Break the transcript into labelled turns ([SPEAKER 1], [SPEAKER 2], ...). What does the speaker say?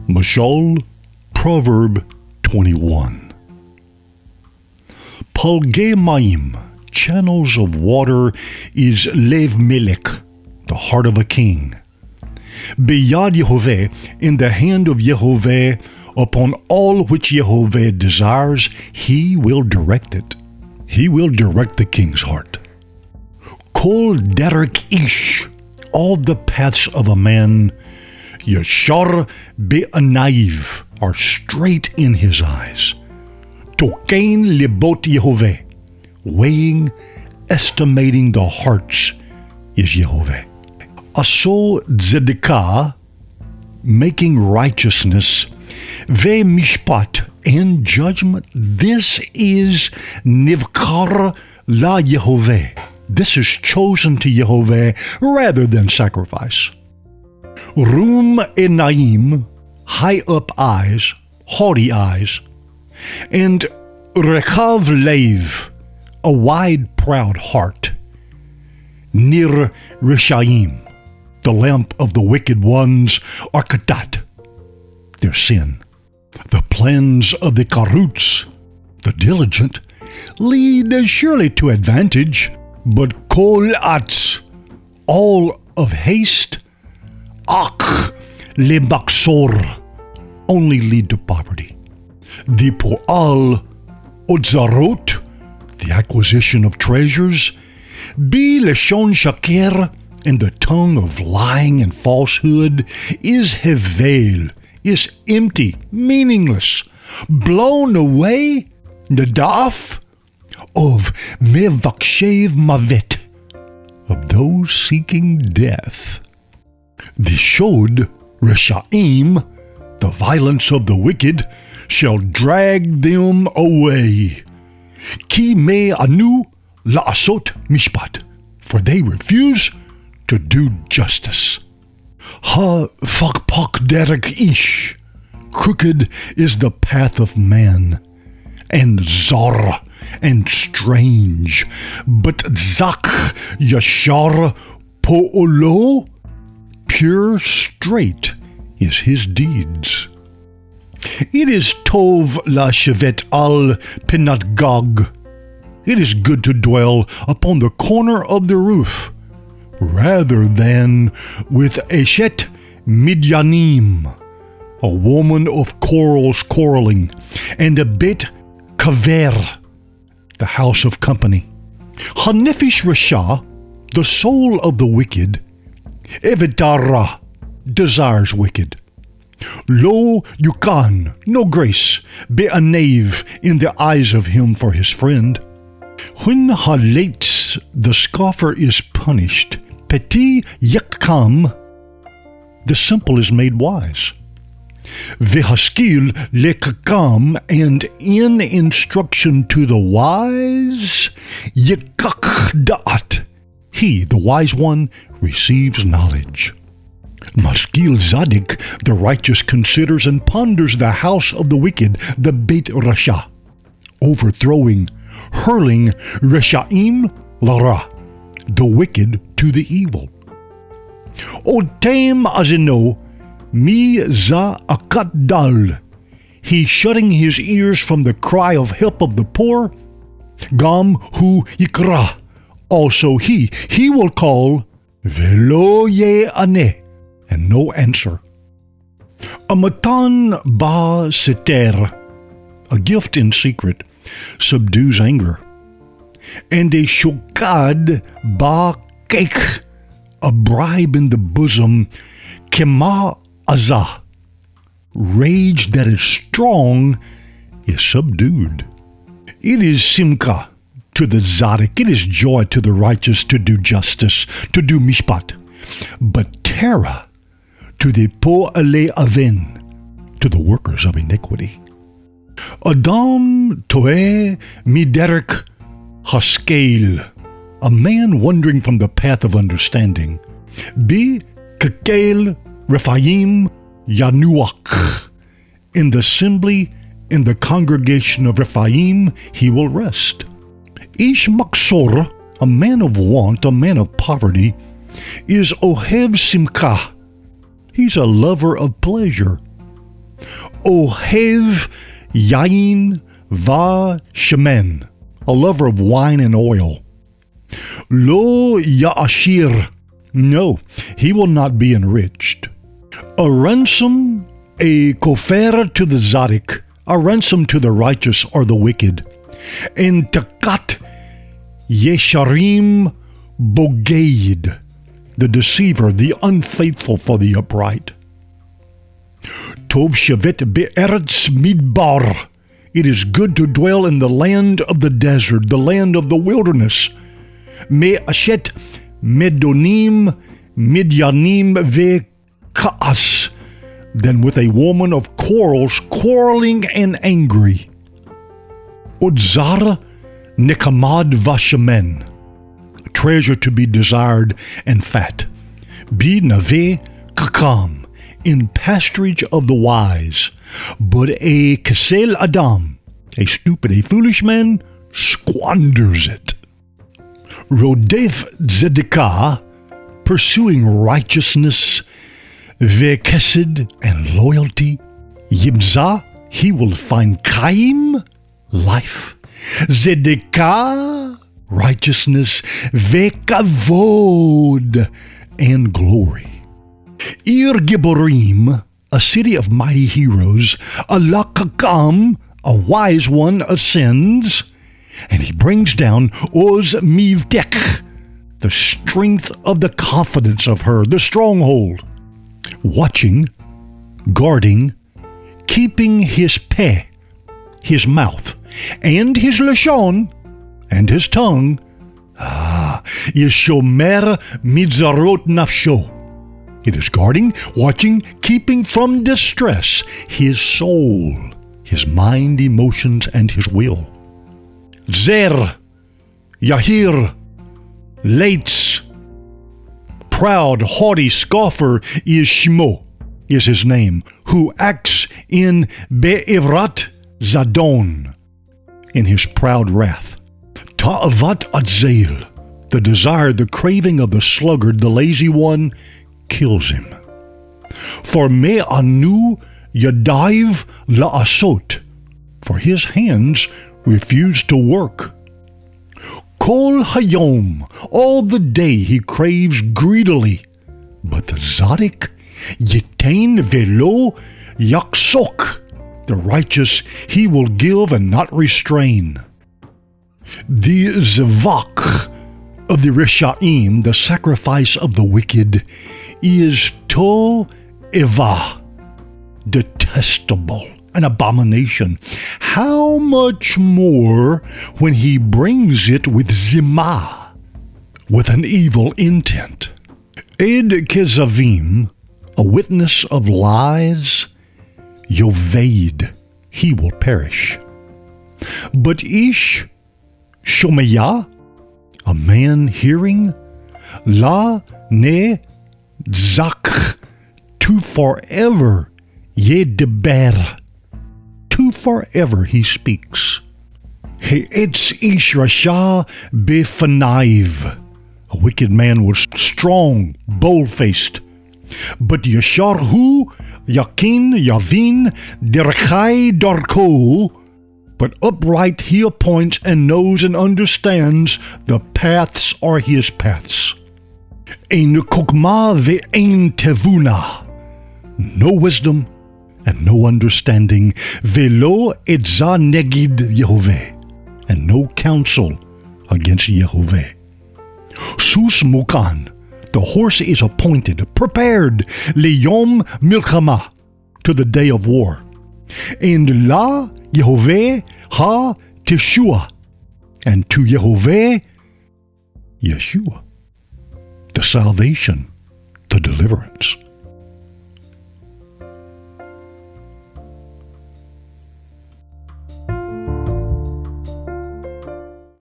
[SPEAKER 1] Mashal, Proverb 21. Palgei Maim, channels of water, is Lev Melech, the heart of a king. Beyad Yehovah, in the hand of Yehovah, upon all which Yehovah desires, he will direct it. He will direct the king's heart. Kol derek ish, all the paths of a man, Yashar be'anaiv, are straight in his eyes. Tokein libot Yehovah, weighing, estimating the hearts, is Yehovah. Aso tzedekah, making righteousness, ve mishpat, and judgment. This is nivkar la Yehovah. This is chosen to Yehovah rather than sacrifice. Rum enaim, high up eyes, haughty eyes, and rechav lev, a wide, proud heart. Nir rishaim, the lamp of the wicked ones, are katat, their sin. The plans of the karuts, the diligent, lead surely to advantage, but kol atz, all of haste, ach lebaksor, only lead to poverty. The po'al otzarot, the acquisition of treasures, bi leshon shaker, and the tongue of lying and falsehood, is hevel, is empty, meaningless, blown away, nadaf, of mevakshev mavet, of those seeking death. The shod reshaim, the violence of the wicked, shall drag them away. Ki me anu la'asot mishpat, for they refuse to do justice. Ha fakpak derek ish, crooked is the path of man, and zar, and strange, but zak yashar po'olo, pure straight is his deeds. It is tov la shevet al pinat gog. It is good to dwell upon the corner of the roof, rather than with Eshet Midyanim, a woman of quarrels quarreling, and a Bet Kaver, the house of company. Hanefish Rasha, the soul of the wicked, Evidara, desires wicked. Lo yukan, no grace, be'anev, in the eyes of him for his friend. When halates, the scoffer is punished, peti yakam, the simple is made wise. Vehaskil lekakam, and in instruction to the wise, yekak da'at, he, the wise one, receives knowledge. Maskil Zadik, the righteous, considers and ponders the house of the wicked, the Beit Rasha, overthrowing, hurling Reshaim Lara, the wicked to the evil. Otem azino mi za akat dal, he shutting his ears from the cry of help of the poor. Gam hu yikra, also he will call, velo ye ane, and no answer. A matan ba seter, a gift in secret, subdues anger. And a shokad ba keik, a bribe in the bosom, kema azah, rage that is strong is subdued. It is simka to the tzaddik, it is joy to the righteous to do justice, to do mishpat, but terror to the po'ale aven, to the workers of iniquity. Adam toeh miderek haskel, a man wandering from the path of understanding. Bi kekel Rephaim yanuach, in the assembly, in the congregation of Rephaim, he will rest. Ish maksor, a man of want, a man of poverty, is ohev simcha, he's a lover of pleasure. Ohev yain va shemen, a lover of wine and oil. Lo ya'ashir, no, he will not be enriched. A ransom, a kofer to the Zadik, a ransom to the righteous or the wicked. And takat yesharim bogeid, the deceiver, the unfaithful for the upright. Tov shevet be'eretz midbar, it is good to dwell in the land of the desert, the land of the wilderness. Me'ashet medonim midyanim ve'ka'as, than with a woman of quarrels, quarreling and angry. Udzar nekamad vashemen, treasure to be desired and fat. Bi nave kakam, in pasturage of the wise. But a kesel adam, a stupid, a foolish man, squanders it. Rodef zedekah, pursuing righteousness, vekesed, and loyalty. Yibza, he will find kaim, life. Zedekah, righteousness, vekavod, and glory. Ir Giborim, a city of mighty heroes, Alakakam, a wise one, ascends, and he brings down Oz Mivdek, the strength of the confidence of her, the stronghold. Watching, guarding, keeping his peh, his mouth, and his lashon, and his tongue. Yeshomer mitzarot nafsho. It is guarding, watching, keeping from distress his soul, his mind, emotions, and his will. Zer, Yahir, Leitz, proud, haughty scoffer is Shmo, is his name, who acts in Be'evrat Zadon, in his proud wrath. Ta'avat Adzail, the desire, the craving of the sluggard, the lazy one, kills him. For Me'anu Yadaiv La'asot, for his hands refuse to work. Kol Hayom, all the day he craves greedily. But the Zadik, Yitain Velo Yaksok, the righteous he will give and not restrain. The Zavak of the Rishaim, the sacrifice of the wicked, is To'eva, detestable, an abomination. How much more when he brings it with Zimah, with an evil intent. Ed Kezavim, a witness of lies, Yoveid, he will perish. But Ish Shomeyah, a man hearing, La Ne Zak, to forever, Yedeber, to forever he speaks. He'etz Ish Rasha Befanaiv, a wicked man was strong, bold-faced. But Yasharhu, Yakin, Yavin, Derechai Darko, but upright he appoints and knows and understands the paths are his paths. Ein kokma ve'ein tevuna, no wisdom and no understanding, velo etza negid Yehovah, and no counsel against Yehovah. Sus mukan, the horse is appointed, prepared, liyom milchama, to the day of war. And la Yehovah ha Teshua, and to Yehovah, Yeshua, the salvation, the deliverance.